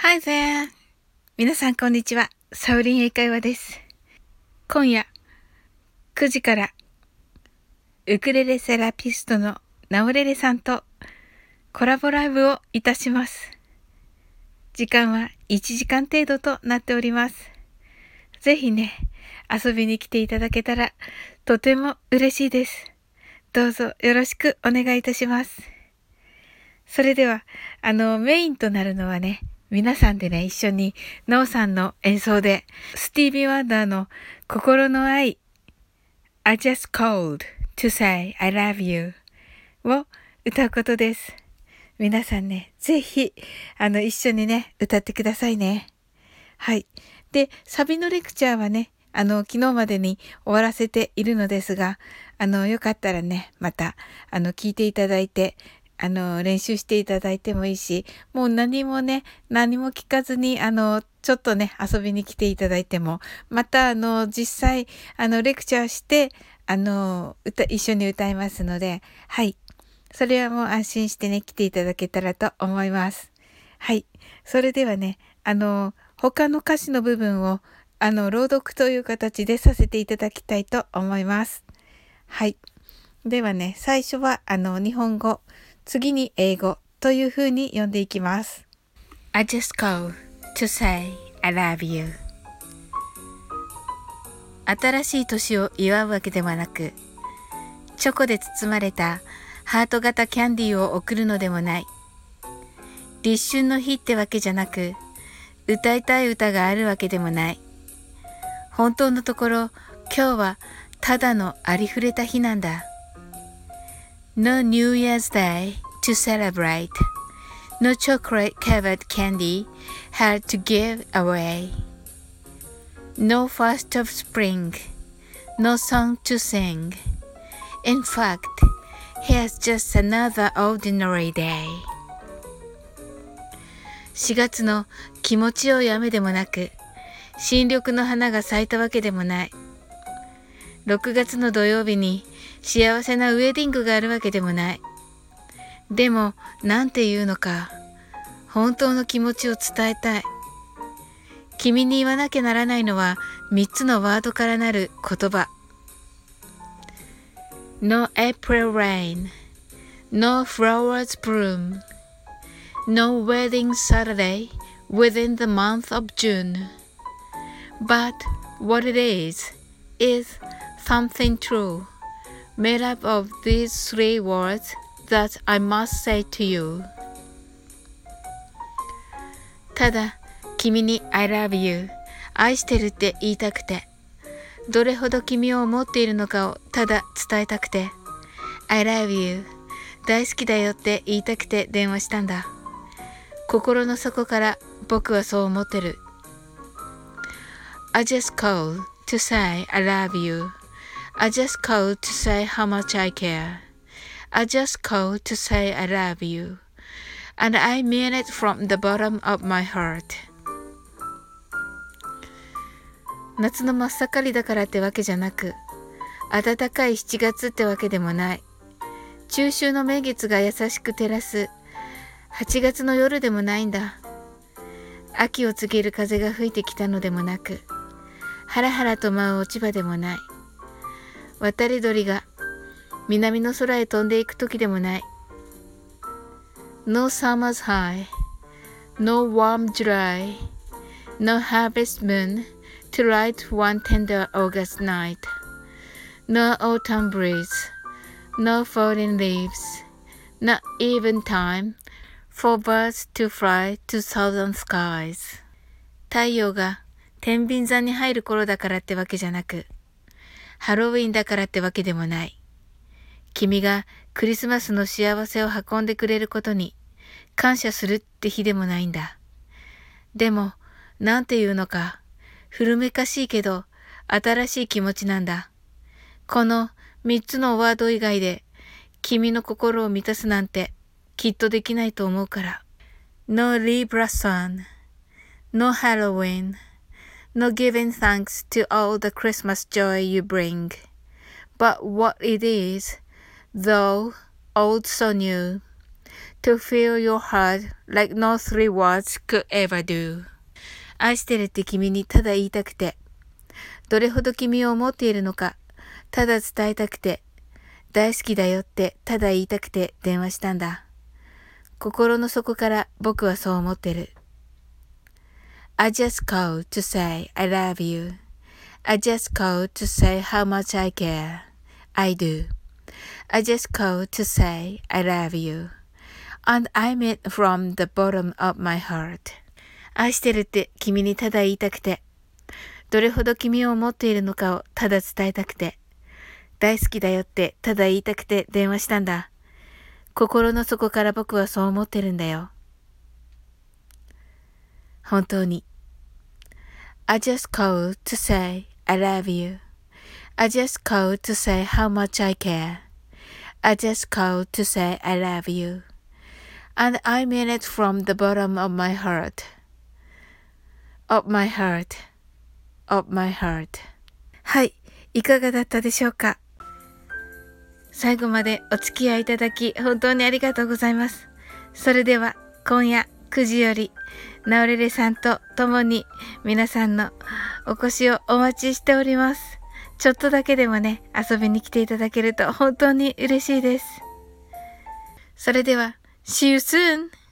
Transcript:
Hi there! 皆さんこんにちは。サウリン英会話です。今夜9時からウクレレセラピストのナオレレさんとコラボライブをいたします。時間は1時間程度となっております。ぜひね、遊びに来ていただけたらとても嬉しいです。どうぞよろしくお願いいたします。それでは、メインとなるのはね、皆さんでね、一緒にノーさんの演奏で、スティービー・ワンダーの心の愛、I just called to say I love you を歌うことです。皆さんね、ぜひ、一緒にね、歌ってくださいね。はい。で、サビのレクチャーはね、昨日までに終わらせているのですが、よかったらね、また、聞いていただいて、練習していただいてもいいし、もう何も聞かずに、ちょっとね、遊びに来ていただいても、また、実際、レクチャーして、一緒に歌いますので、はい。それはもう安心してね、来ていただけたらと思います。はい。それではね、他の歌詞の部分を、朗読という形でさせていただきたいと思います。はい。ではね、最初は、日本語、次に英語という風に読んでいきます。I just call to say I love you. 新しい年を祝うわけではなく、チョコで包まれたハート型キャンディーを送るのでもない。立春の日ってわけじゃなく、歌いたい歌があるわけでもない。本当のところ、今日はただのありふれた日なんだ。No New Year's Day to celebrate. No chocolate-covered candy had to give away. No first of spring. No song to sing. In fact, here's just another ordinary day. 4月の気持ちよい雨でもなく、新緑の花が咲いたわけでもない。6月の土曜日に幸せなウェディングがあるわけでもない。でも、なんて言うのか、本当の気持ちを伝えたい。君に言わなきゃならないのは3つのワードからなる言葉。No April rain, no flowers bloom, no wedding Saturday within the month of June. But what it is something true, made up of these 3 words that I must say to you. ただ、君に I love you 愛してるって言いたくて、どれほど君を思っているのかをただ伝えたくて、I love you 大好きだよって言いたくて電話したんだ。心の底から僕はそう思ってる。I just called to say I love you. I just called to say how much I care. I just called to say I love you. And I mean it from the bottom of my heart. 夏の真っ盛りだからってわけじゃなく、暖かい7月ってわけでもない。中秋の名月が優しく照らす8月の夜でもないんだ。秋を告げる風が吹いてきたのでもなく、ハラハラと舞う落ち葉でもない。渡り鳥が南の空へ飛んでいく時でもない。No summer's high, no warm July, no harvest moon to light one tender August night, no autumn breeze, no falling leaves, not even time for birds to fly to southern skies. 太陽が天秤座に入る頃だからってわけじゃなく、ハロウィンだからってわけでもない。君がクリスマスの幸せを運んでくれることに感謝するって日でもないんだ。でも、なんていうのか、古めかしいけど新しい気持ちなんだ。この3つのワード以外で君の心を満たすなんてきっとできないと思うから。No Libra sun, no Halloween, no giving thanks to all the Christmas joy you bring. But what it is, though old so new, to feel your heart like no three words could ever do. 愛してるって君にただ言いたくて、どれほど君を思っているのか、ただ伝えたくて、大好きだよってただ言いたくて電話したんだ。心の底から僕はそう思ってる。I just called to say I love you. I just called to say how much I care. I do. I just called to say I love you. And I mean from the bottom of my heart. 愛してるって君にただ言いたくて、どれほど君を思っているのかをただ伝えたくて、大好きだよってただ言いたくて電話したんだ。心の底から僕はそう思ってるんだよ。本当に。I just called to say I love you. I just called to say how much I care. I just called to say I love you. And I mean it from the bottom of my heart. Of my heart. Of my heart. はい、いかがだったでしょうか。最後までお付き合いいただき本当にありがとうございます。それでは今夜9時よりナオレレさんと共に皆さんのお越しをお待ちしております。ちょっとだけでもね、遊びに来ていただけると本当に嬉しいです。それでは See you soon!